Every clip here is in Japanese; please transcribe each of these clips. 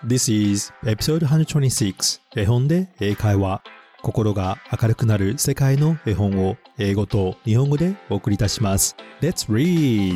This is episode 126絵本で英会話。心が明るくなる世界の絵本を英語と日本語でお送りいたします。Let's read!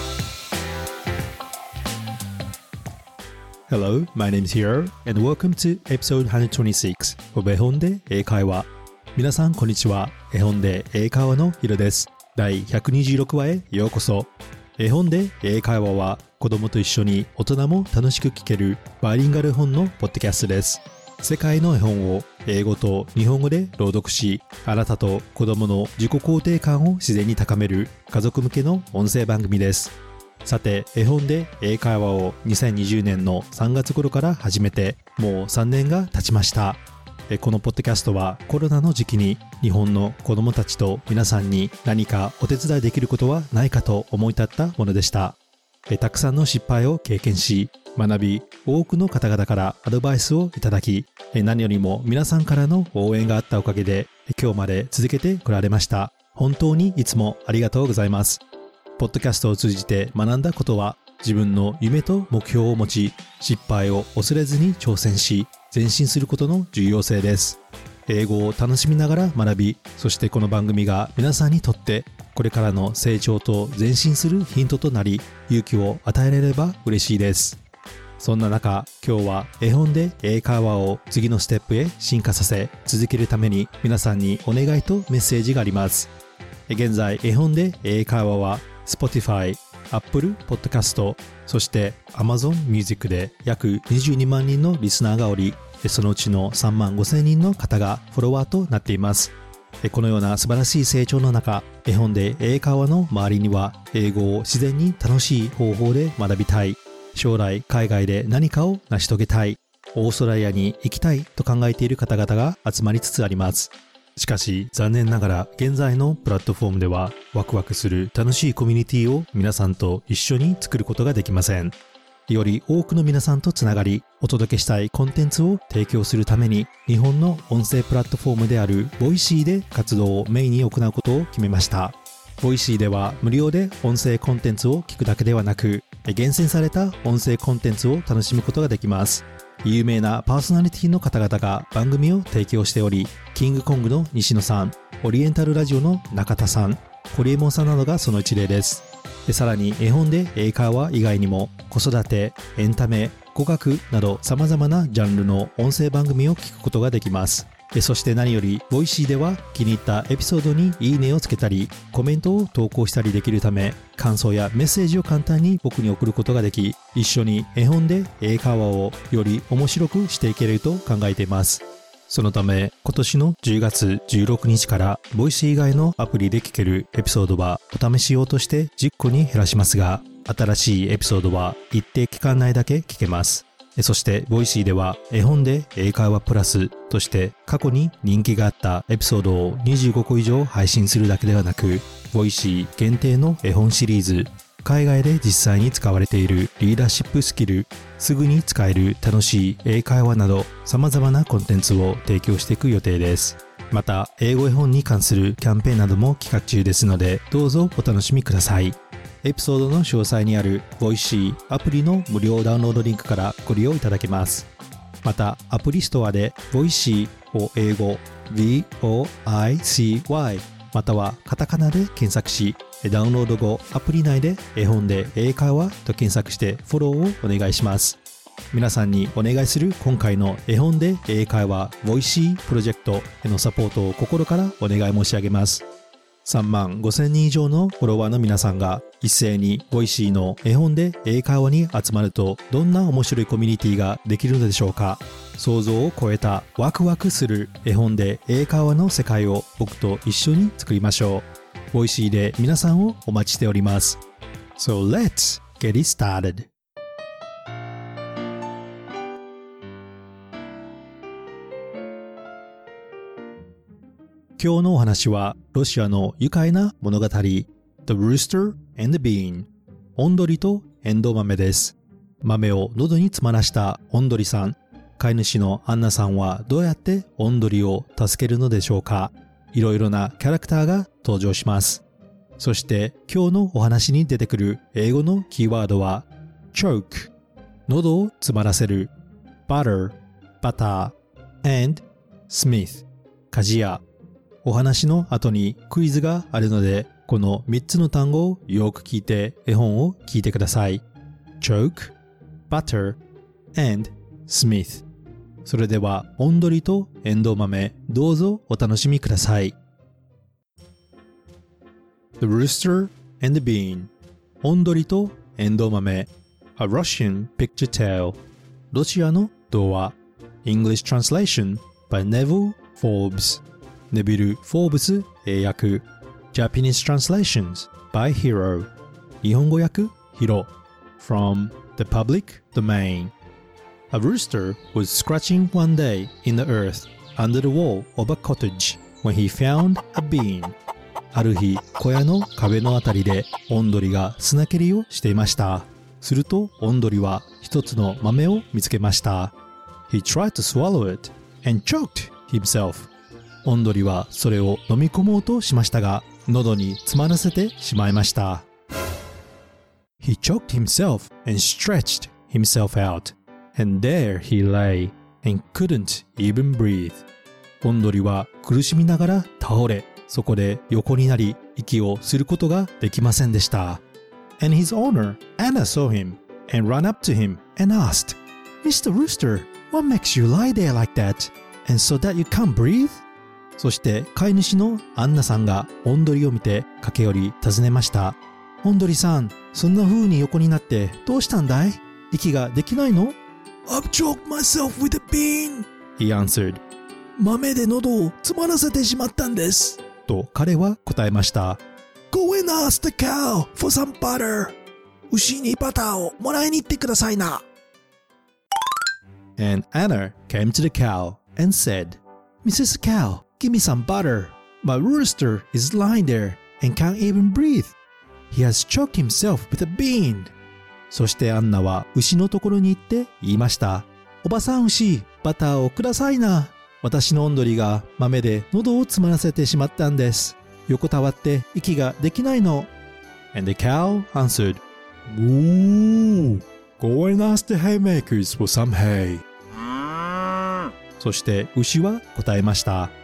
Hello, my name is Hiro and welcome to episode 126 of 絵本で英会話。皆さんこんにちは。絵本で英会話のヒロです。第126話へようこそ。絵本で英会話は子供と一緒に大人も楽しく聞けるバイリンガル絵本のポッドキャストです。世界の絵本を英語と日本語で朗読し、あなたと子供の自己肯定感を自然に高める家族向けの音声番組です。さて、絵本で英会話を2020年の3月頃から始めてもう3年が経ちました。このポッドキャストはコロナの時期に日本の子どもたちと皆さんに何かお手伝いできることはないかと思い立ったものでした。たくさんの失敗を経験し、学び、多くの方々からアドバイスをいただき、何よりも皆さんからの応援があったおかげで今日まで続けてこられました。本当にいつもありがとうございます。ポッドキャストを通じて学んだことは、自分の夢と目標を持ち、失敗を恐れずに挑戦し、前進することの重要性です。英語を楽しみながら学び、そしてこの番組が皆さんにとってこれからの成長と前進するヒントとなり、勇気を与えられれば嬉しいです。そんな中、今日は絵本で英会話を次のステップへ進化させ続けるために皆さんにお願いとメッセージがあります。現在、絵本で英会話は Spotify、Apple Podcast、そして Amazon Music で約22万人のリスナーがおり、そのうちの3万5千人の方がフォロワーとなっています。このような素晴らしい成長の中、絵本で英会話の周りには英語を自然に楽しい方法で学びたい、将来海外で何かを成し遂げたい、オーストラリアに行きたいと考えている方々が集まりつつあります。しかし残念ながら現在のプラットフォームではワクワクする楽しいコミュニティを皆さんと一緒に作ることができません。より多くの皆さんとつながり、お届けしたいコンテンツを提供するために、日本の音声プラットフォームであるボイシーで活動をメインに行うことを決めました。ボイシーでは無料で音声コンテンツを聞くだけではなく、厳選された音声コンテンツを楽しむことができます。有名なパーソナリティの方々が番組を提供しており、キングコングの西野さん、オリエンタルラジオの中田さん、ホリエモンさんなどがその一例です。さらに絵本で英会話以外にも子育て、エンタメ、語学など様々なジャンルの音声番組を聞くことができます。そして何よりボイシーでは気に入ったエピソードにいいねをつけたりコメントを投稿したりできるため、感想やメッセージを簡単に僕に送ることができ、一緒に絵本で英会話をより面白くしていけると考えています。そのため今年の10月16日からボイシー以外のアプリで聞けるエピソードはお試し用として10個に減らしますが、新しいエピソードは一定期間内だけ聞けます。そしてボイシーでは絵本で英会話プラスとして過去に人気があったエピソードを25個以上配信するだけではなく、ボイシー限定の絵本シリーズ、海外で実際に使われているリーダーシップスキル、すぐに使える楽しい英会話など様々なコンテンツを提供していく予定です。また英語絵本に関するキャンペーンなども企画中ですので、どうぞお楽しみください。エピソードの詳細にあるボイシーアプリの無料ダウンロードリンクからご利用いただけます。またアプリストアでボイシーを英語 VOICY またはカタカナで検索し、ダウンロード後アプリ内で絵本で英会話と検索してフォローをお願いします。皆さんにお願いする今回の絵本で英会話ボイシープロジェクトへのサポートを心からお願い申し上げます。3万5千人以上のフォロワーの皆さんが一斉にボイシーの絵本で英会話に集まると、どんな面白いコミュニティができるのでしょうか。想像を超えたワクワクする絵本で英会話の世界を僕と一緒に作りましょう。ボイシーで皆さんをお待ちしております。So let's get it started. 今日のお話はロシアの愉快な物語 The Rooster and the Bean オンドリとエンドウ豆です。豆を喉に詰まらしたオンドリさん、飼い主のアンナさんはどうやってオンドリを助けるのでしょうか。いろいろなキャラクターが登場します。そして今日のお話に出てくる英語のキーワードは choke 喉を詰まらせる、 butter バター and smith 鍛冶屋。お話の後にクイズがあるので、この3つの単語をよく聞いて絵本を聞いてください。choke, butter, and smith。それでは、オンドリとエンドウ豆、どうぞお楽しみください。The rooster and the bean。オンドリとエンドウ豆。A Russian picture tale。ロシアの童話。English translation by Neville Forbes。ネビル・フォーブス英訳。Japanese translations by Hiro。日本語訳ヒロ。From the public domain。A rooster was scratching one day in the earth under the wall of a cottage when he found a bean. ある日、小屋の壁のあたりでオンドリが砂蹴りをしていました。すると、オンドリは一つの豆を見つけました。He tried to swallow it and choked himself. オンドリはそれを飲み込もうとしましたが、喉に詰まらせてしまいました。He choked himself and stretched himself out.And there he lay and couldn't even breathe. オンドリは苦しみながら倒れ、そこで横になり、息をすることができませんでした。And his owner, Anna, saw him and ran up to him and asked, Mr. Rooster, what makes you lie there like that? And so that you can't breathe? そして飼い主のアンナさんがオンドリを見て駆け寄り尋ねました。オンドリさん、そんな風に横になってどうしたんだい？息ができないの？I've choked myself with a bean, he answered. 豆で喉を詰まらせてしまったんです。と彼は答えました。Go and ask the cow for some butter. 牛にバターをもらいに行ってくださいな。And Anna came to the cow and said, Mrs. Cow, give me some butter. My rooster is lying there and can't even breathe. He has choked himself with a bean.そしてアンナは牛のところに行って言いました。おばさん牛、バターをくださいな。私のオンドリが豆で喉を詰まらせてしまったんです。横たわって息ができないの。And the cow answered, Moo, go and ask the haymakers for some hay. そして牛は答えました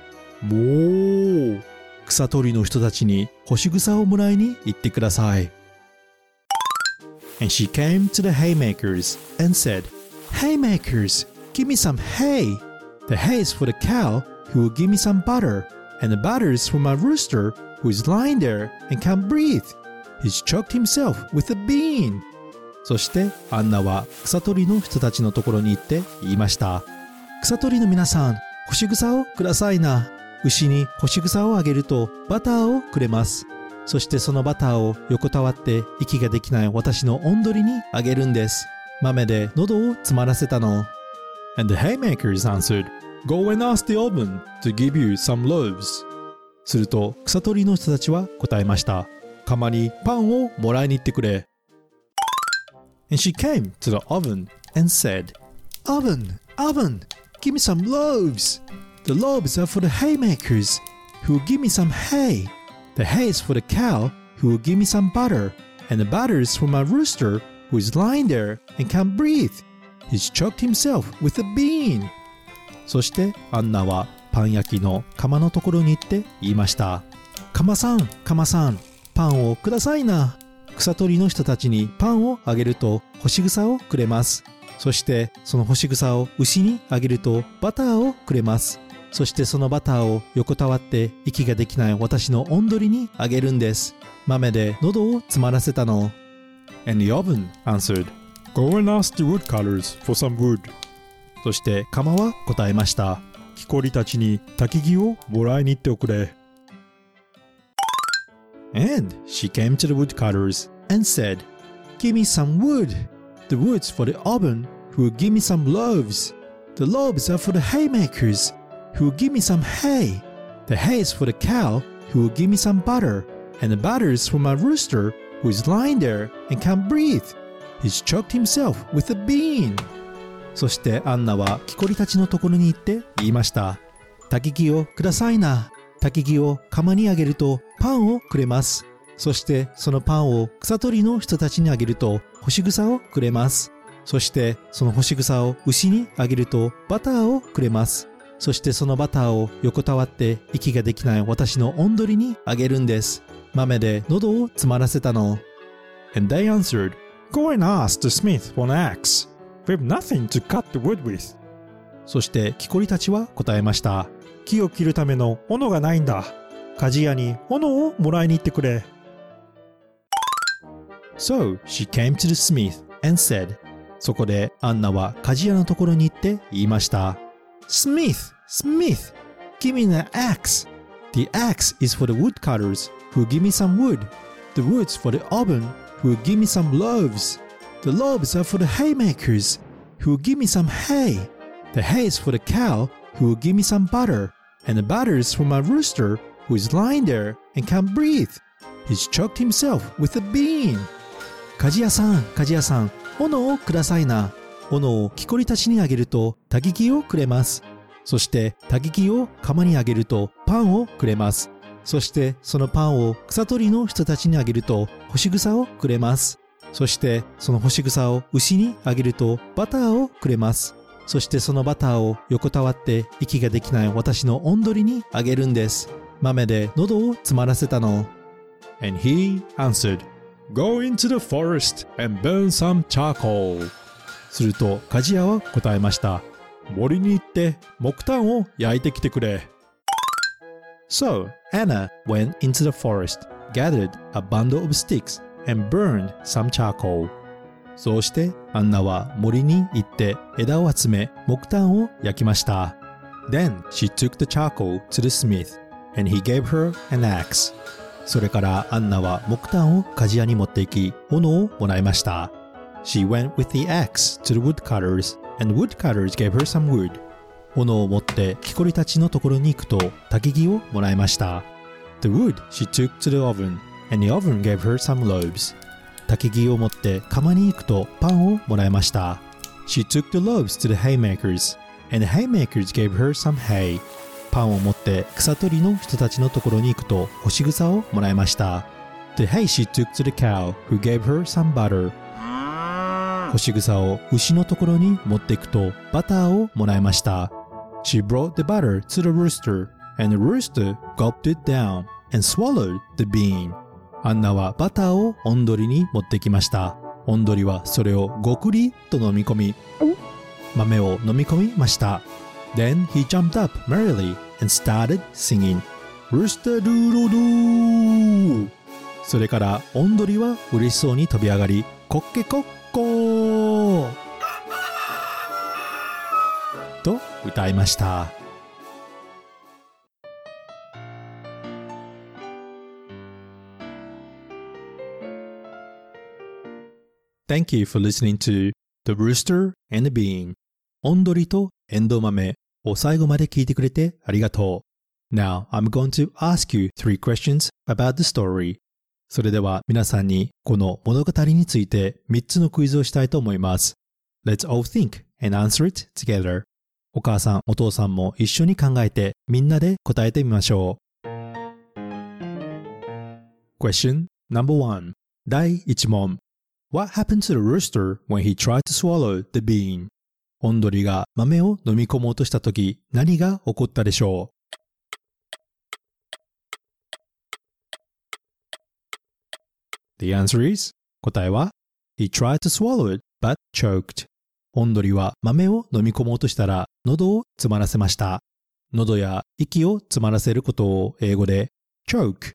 。Moo, 草取りの人たちに干し草をもらいに行ってください。And she came to the haymakers and said, Haymakers, give me some hay. The hay is for the cow who will give me some butter, and the butter is for my rooster who is lying there and can't breathe. He's choked himself with a bean. そしてアンナは草取りの人たちのところに行って言いました。草取りの皆さん、干し草をくださいな。牛に干し草をあげるとバターをくれます。そしてそのバターを横たわって息ができない私のオンドリにあげるんです。豆で喉を詰まらせたの。And the haymakers answered, Go and ask the oven to give you some loaves. すると草取りの人たちは答えました。釜にパンをもらいに行ってくれ。And she came to the oven and said, Oven, oven, give me some loaves. The loaves are for the haymakers who will give me some hay.The hay is for the cow who will give me some butter, and the butter is for my rooster who is lying there and can't breathe. He's choked himself with a bean. そしてアンナはパン焼きの釜のところに行って言いました。釜さん、釜さん、パンをくださいな。草取りの人たちにパンをあげると干し草をくれます。そしてその干し草を牛にあげるとバターをくれます。そしてそのバターを横たわって息ができない私のオンドリにあげるんです。豆で喉を詰まらせたの。And the oven answered, Go and ask the woodcutters for some wood. そして釜は答えました。木こりたちに焚き木をもらいに行っておくれ。And she came to the woodcutters and said, Give me some wood. The wood's for the oven who will give me some loaves. The loaves are for the haymakers.Who will give me some hay? The hay is for the cow who will give me some butter, and the butter is for my rooster who is lying there and can't breathe. He's choked himself with a bean. そしてアンナは木こりたちのところに行って言いました。焚き木をくださいな。焚き木を釜にあげるとパンをくれます。そしてそのパンを草取りの人たちにあげると干し草をくれます。 そしてその干し草を牛にあげるとバターをくれます。そしてそのバターを横たわって息ができない私のおんどりにあげるんです。豆で喉を詰まらせたの。 And they answered, Go and ask the smith for an axe. We have nothing to cut the wood with. そして木こりたちは答えました。 木を切るための斧がないんだ。鍛冶屋に斧をもらいに行ってくれ。 So she came to the smith and said, そこでアンナは鍛冶屋のところに行って言いました。Smith, Smith, give me an axe. The axe is for the woodcutters who give me some wood. The wood's for the oven who give me some loaves. The loaves are for the haymakers who give me some hay. The hay is for the cow who give me some butter. And the butter is for my rooster who is lying there and can't breathe. He's choked himself with a bean. 鍛冶屋さん、鍛冶屋さん、斧をくださいな。斧を木こりたちにあげるとたき木をくれます。そしてたき木を釜にあげるとパンをくれます。そしてそのパンを草取りの人たちにあげると干し草をくれます。そしてその干し草を牛にあげるとバターをくれます。そしてそのバターを横たわって息ができない私のおんどりにあげるんです。豆で喉を詰まらせたの。 And he answered, Go into the forest and burn some charcoal. すると鍛冶屋は答えました。 森に行って木炭を焼いてきてくれ。 So Anna went into the forest, gathered a bundle of sticks, and burned some charcoal. そうしてアンナは森に行って枝を集め木炭を焼きました。Then she took the charcoal to the smith, and he gave her an axe. それからアンナは木炭を鍛冶屋に持って行き斧をもらいました。She went with the axe to the woodcutters, and the woodcutters gave her some wood. 斧を持って木こりたちのところに行くと焚き木をもらいました。The wood she took to the oven, and the oven gave her some loaves. 焚き木を持って釜に行くとパンをもらいました。She took the loaves to the haymakers, and the haymakers gave her some hay. パンを持って草取りの人たちのところに行くと干し草をもらいました。The hay she took to the cow, who gave her some butter. 干し草を牛のところに持っていくとバターをもらいました。She brought the butter to the rooster, and the rooster gulped it down and swallowed the bean. アンナはバターをおんどりに持ってきました。おんどりはそれをごくりと飲み込み、豆を飲み込みました。Then he jumped up merrily and started singing, Rooster doodle-doo. それからおんどりは嬉しそうに飛び上がり、コッケコッコーと歌いました。Thank you for listening to The Rooster and the Bean. おんどりとエンドウ豆を最後まで聞いてくれてありがとう。Now I'm going to ask you 3 questions about the story. それでは皆さんにこの物語について3つのクイズをしたいと思います。Let's all think and answer it together. お母さん、お父さんも一緒に考えてみんなで答えてみましょう。Question number 1. 第1問。What happened to the rooster when he tried to swallow the bean? おんどりが豆を飲み込もうとしたとき何が起こったでしょう？ The answer is 答えは He tried to swallow it but choked. おんどりは豆を飲み込もうとしたら喉を詰まらせました。喉や息を詰まらせることを英語で choke,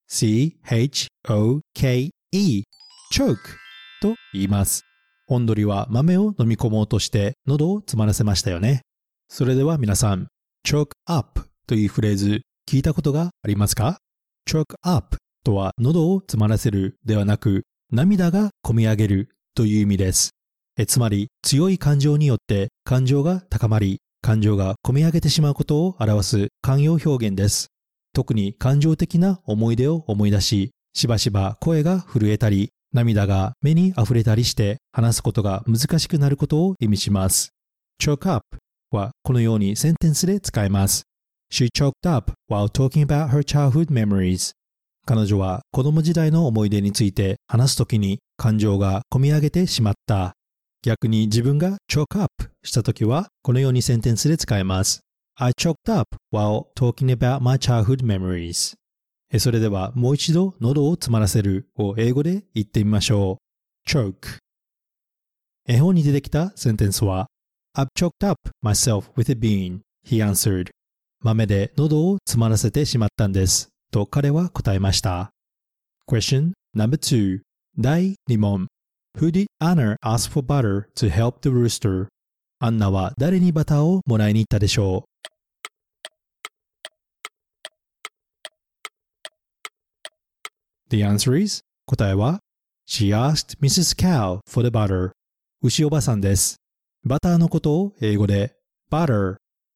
C-H-O-K-E, choke と言います。おんどりは豆を飲み込もうとして喉を詰まらせましたよね。それでは皆さん、choke up というフレーズ聞いたことがありますか？ choke up とは喉を詰まらせるではなく、涙がこみ上げるという意味です。つまり強い感情によって感情が高まり、感情がこみ上げてしまうことを表す慣用表現です。特に感情的な思い出を思い出し、しばしば声が震えたり、涙が目に溢れたりして話すことが難しくなることを意味します。choke up はこのようにセンテンスで使えます。She choked up while talking about her childhood memories. 彼女は子供時代の思い出について話すときに感情がこみ上げてしまった。 逆に自分が choke up したときはこのようにセンテンスで使えます。I choked up while talking about my childhood memories. それではもう一度喉を詰まらせるを英語で言ってみましょう。choke。絵本に出てきたセンテンスは I've choked up myself with a bean, he answered. 豆で喉を詰まらせてしまったんです。と彼は答えました。Question number 2. 第2問。Who did Anna ask for butter to help the rooster? アンナは誰にバターをもらいに行ったでしょう。The answer is 答えは She asked Mrs. Cow for the butter. 牛おばさんです。バターのことを英語で butter,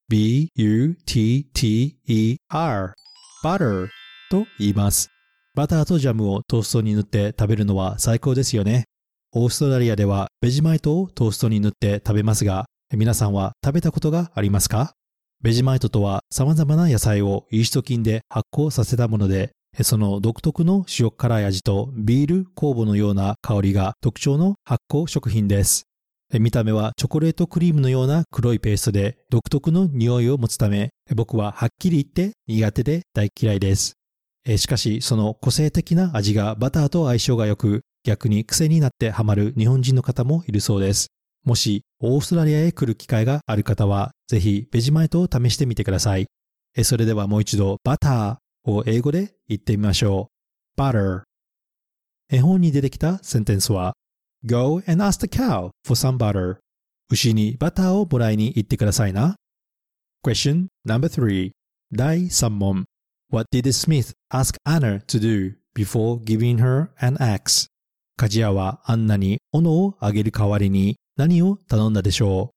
B-U-T-T-E-R, butter と言います。バターとジャムをトーストに塗って食べるのは最高ですよね。オーストラリアではベジマイトをトーストに塗って食べますが、皆さんは食べたことがありますか？ベジマイトとは様々な野菜をイースト菌で発酵させたもので、その独特の塩辛い味とビール酵母のような香りが特徴の発酵食品です。見た目はチョコレートクリームのような黒いペーストで独特の匂いを持つため、僕ははっきり言って苦手で大嫌いです。しかしその個性的な味がバターと相性が良く、逆に癖になってハマる日本人の方もいるそうです。もしオーストラリアへ来る機会がある方は、ぜひベジマイトを試してみてください。それではもう一度バターを英語で言ってみましょう。butter。絵本に出てきたセンテンスは Go and ask the cow for some butter. 牛にバターをもらいに行ってくださいな。Question number 3. 第3問。What did the smith ask Anna to do before giving her an axe? 鍛冶屋はアンナに斧をあげる代わりに何を頼んだでしょう？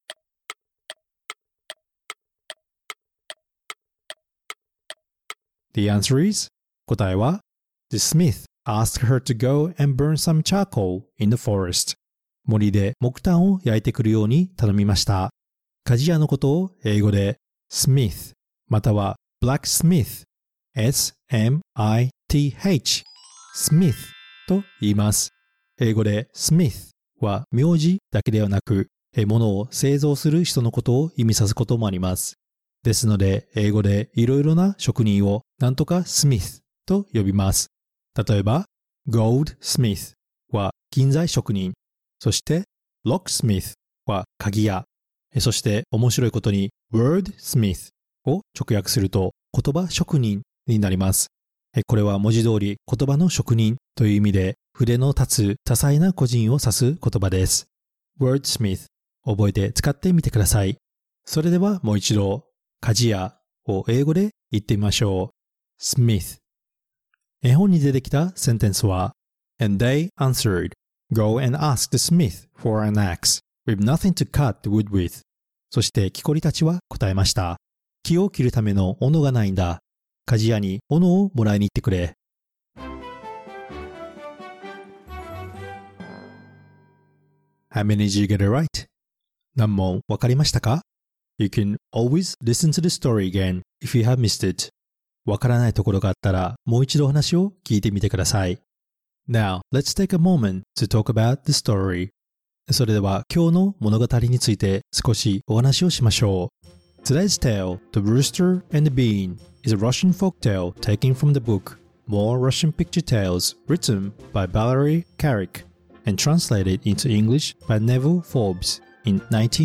The answer is 答えは The smith asked her to go and burn some charcoal in the forest. 森で木炭を焼いてくるように頼みました。鍛冶屋のことを英語で smith または blacksmith S-M-I-T-H smith と言います。英語で smith は名字だけではなく、物を製造する人のことを意味さすこともあります。ですので、英語でいろいろな職人をなんとか smith と呼びます。例えば、goldsmith は金材職人、そして locksmith は鍵屋、そして面白いことに wordsmith を直訳すると言葉職人になります。これは文字通り言葉の職人という意味で、筆の立つ多彩な個人を指す言葉です。wordsmith 覚えて使ってみてください。それではもう一度、鍛冶屋を英語で言ってみましょう。smith。絵本に出てきたセンテンスは And they answered, Go and ask the smith for an axe with nothing to cut the wood with. そして木こりたちは答えました。木を切るための斧がないんだ。鍛冶屋に斧をもらいに行ってくれ。How many did you get it right? 何問わかりましたか？ You can always listen to the story again if you have missed it. わからないところがあったらもう一度お話を聞いてみてください。Now, let's take a moment to talk about the story. それでは今日の物語について少しお話をしましょう。Today's tale, The Rooster and the Bean, is a Russian folktale taken from the book More Russian Picture Tales, written by Valery Carrick.and translated into English by Neville Forbes in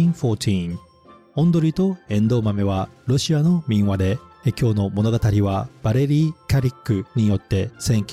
1914. オンドリとエンドウ豆はロシアの民話で、今日の物語はバレリー・カリックによって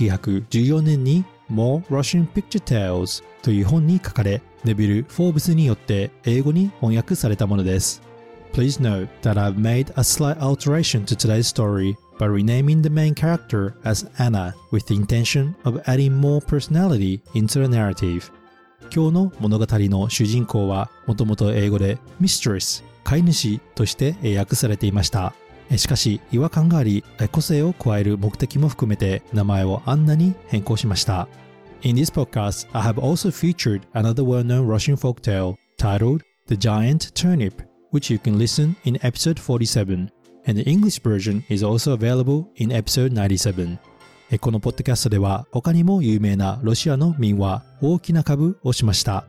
1914年に More Russian Picture Tales という本に書かれ、ネビル・フォーブスによって英語に翻訳されたものです。Please note that I've made a slight alteration to today's story by renaming the main character as Anna with the intention of adding more personality into the narrative. 今日の物語の主人公はもともと英語で Mistress 飼い主として訳されていました。しかし違和感があり、個性を加える目的も含めて名前をアンナに変更しました。In this podcast, I have also featured another well-known Russian folktale titled The Giant Turnip,which you can listen in episode 47, and the English version is also available in episode 97. このポッドキャストでは他にも有名なロシアの民話大きな株をしました。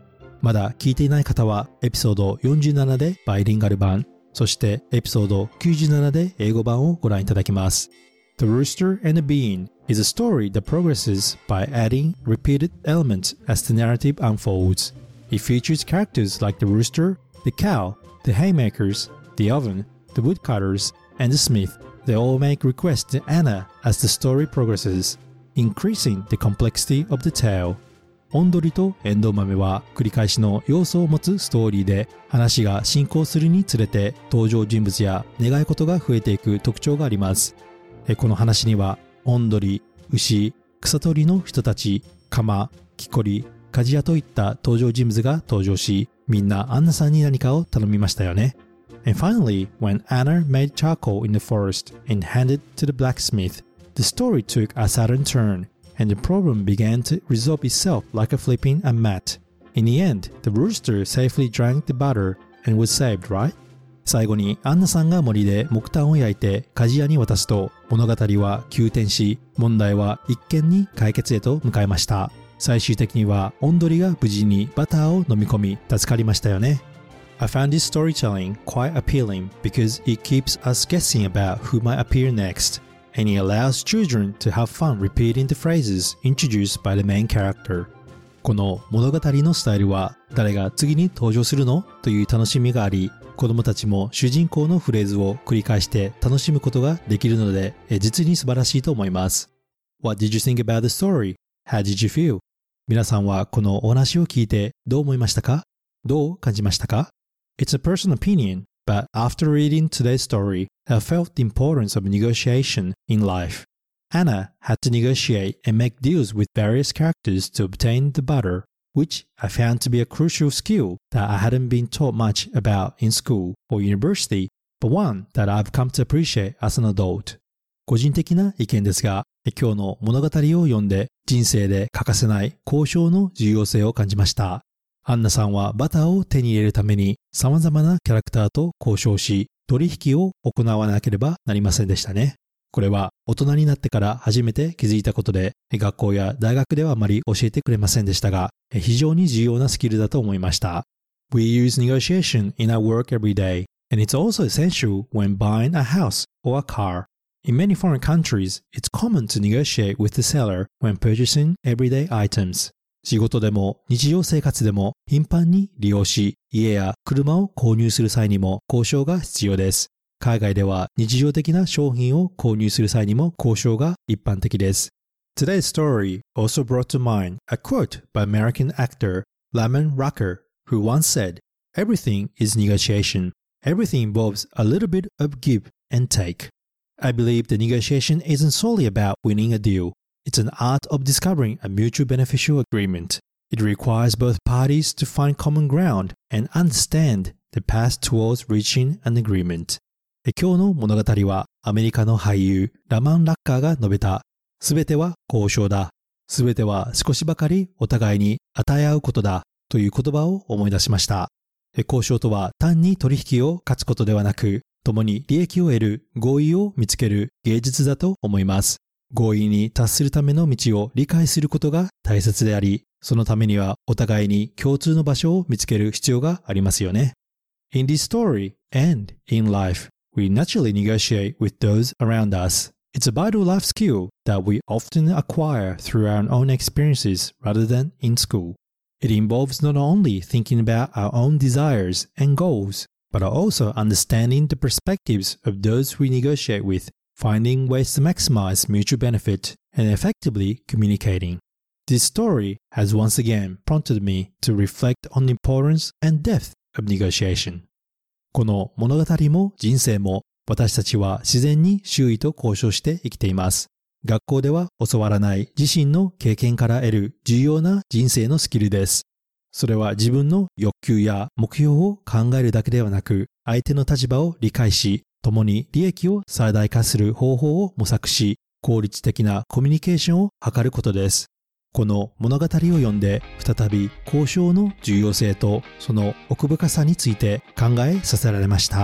まだ聞いていない方はエピソード47でバイリンガル版、そしてエピソード97で英語版をご覧いただきます。The Rooster and the Bean is a story that progresses by adding repeated elements as the narrative unfolds. It features characters like the rooster, the cow, the haymakers, the oven, the woodcutters, and the smith. They all make requests to Anna as the story progresses, increasing the complexity of the tale. オンドリとエンドウ豆は繰り返しの要素を持つストーリーで、話が進行するにつれて登場人物や願い事が増えていく特徴があります。この話にはオンドリ、牛、草取りの人たち、鎌、木こり、鍛冶屋といった登場人物が登場し、みんなアンナさんに何かを頼みましたよね。And finally, when Anna made charcoal in the forest and handed to the blacksmith, the story took a sudden turn, and the problem began to resolve itself like a flipping a mat. In the end, the rooster safely drank the butter and was saved, right? 最後にアンナさんが森で木炭を焼いて鍛冶屋に渡すと、物語は急転し、問題は一見に解決へと向かいました。最終的にはオンドリが無事にバターを飲み込み助かりましたよね。I found this storytelling quite appealing because it keeps us guessing about who might appear next, and it allows children to have fun repeating the phrases introduced by the main character. この物語のスタイルは誰が次に登場するのという楽しみがあり、子供たちも主人公のフレーズを繰り返して楽しむことができるので、実に素晴らしいと思います。What did you think about the story? How did you feel? 皆さんはこのお話を聞いてどう思いましたか？どう感じましたか？ It's a personal opinion, but after reading today's story, I felt the importance of negotiation in life. Anna had to negotiate and make deals with various characters to obtain the butter, which I found to be a crucial skill that I hadn't been taught much about in school or university, but one that I've come to appreciate as an adult. 個人的な意見ですが、今日の物語を読んで人生で欠かせない交渉の重要性を感じました。アンナさんはバターを手に入れるために様々なキャラクターと交渉し、取引を行わなければなりませんでしたね。これは大人になってから初めて気づいたことで、学校や大学ではあまり教えてくれませんでしたが、非常に重要なスキルだと思いました。We use negotiation in our work every day, and it's also essential when buying a house or a car. In many foreign countries, it's common to negotiate with the seller when purchasing everyday items. 仕事でも日常生活でも頻繁に利用し、家や車を購入する際にも交渉が必要です。海外では日常的な商品を購入する際にも交渉が一般的です。Today's story also brought to mind a quote by American actor Lamon Rucker, who once said, "Everything is negotiation. Everything involves a little bit of give and take." I believe the negotiation isn't solely about winning a deal. It's an art of discovering a mutually beneficial agreement. It requires both parties to find common ground and understand the path towards reaching an agreement. 今日の物語はアメリカの俳優ラマン・ラッカーが述べた、すべては交渉だ。すべては少しばかりお互いに与え合うことだという言葉を思い出しました。交渉とは単に取引を勝つことではなく、共に利益を得る合意を見つける芸術だと思います。合意に達するための道を理解することが大切であり、そのためにはお互いに共通の場所を見つける必要がありますよね。In this story and in life, we naturally negotiate with those around us. It's a vital life skill that we often acquire through our own experiences rather than in school. It involves not only thinking about our own desires and goals, but also understanding the perspectives of those we negotiate with, finding ways to maximize mutual benefit, and effectively communicating. This story has once again prompted me to reflect on the importance and depth of negotiation. この物語も人生も私たちは自然に周囲と交渉して生きています。学校では教わらない自身の経験から得る重要な人生のスキルです。それは自分の欲求や目標を考えるだけではなく、相手の立場を理解し、共に利益を最大化する方法を模索し、効率的なコミュニケーションを図ることです。この物語を読んで、再び交渉の重要性とその奥深さについて考えさせられました。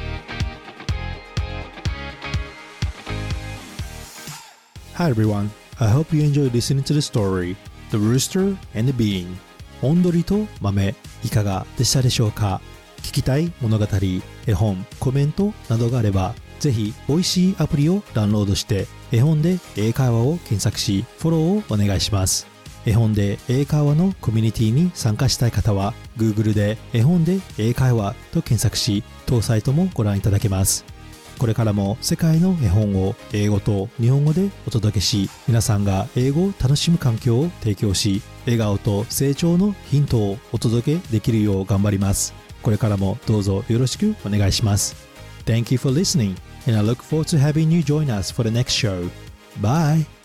Hi everyone, I hope you enjoy listening to the story, The Rooster and the Bean. オンドリと豆、いかがでしたでしょうか？聞きたい物語、絵本、コメントなどがあれば、ぜひボイシーアプリをダウンロードして、絵本で英会話を検索し、フォローをお願いします。絵本で英会話のコミュニティに参加したい方は、Google で絵本で英会話と検索し、当サイトもご覧いただけます。これからも世界の絵本を英語と日本語でお届けし、皆さんが英語を楽しむ環境を提供し、笑顔と成長のヒントをお届けできるよう頑張ります。これからもどうぞよろしくお願いします。Thank you for listening, and I look forward to having you join us for the next show. Bye!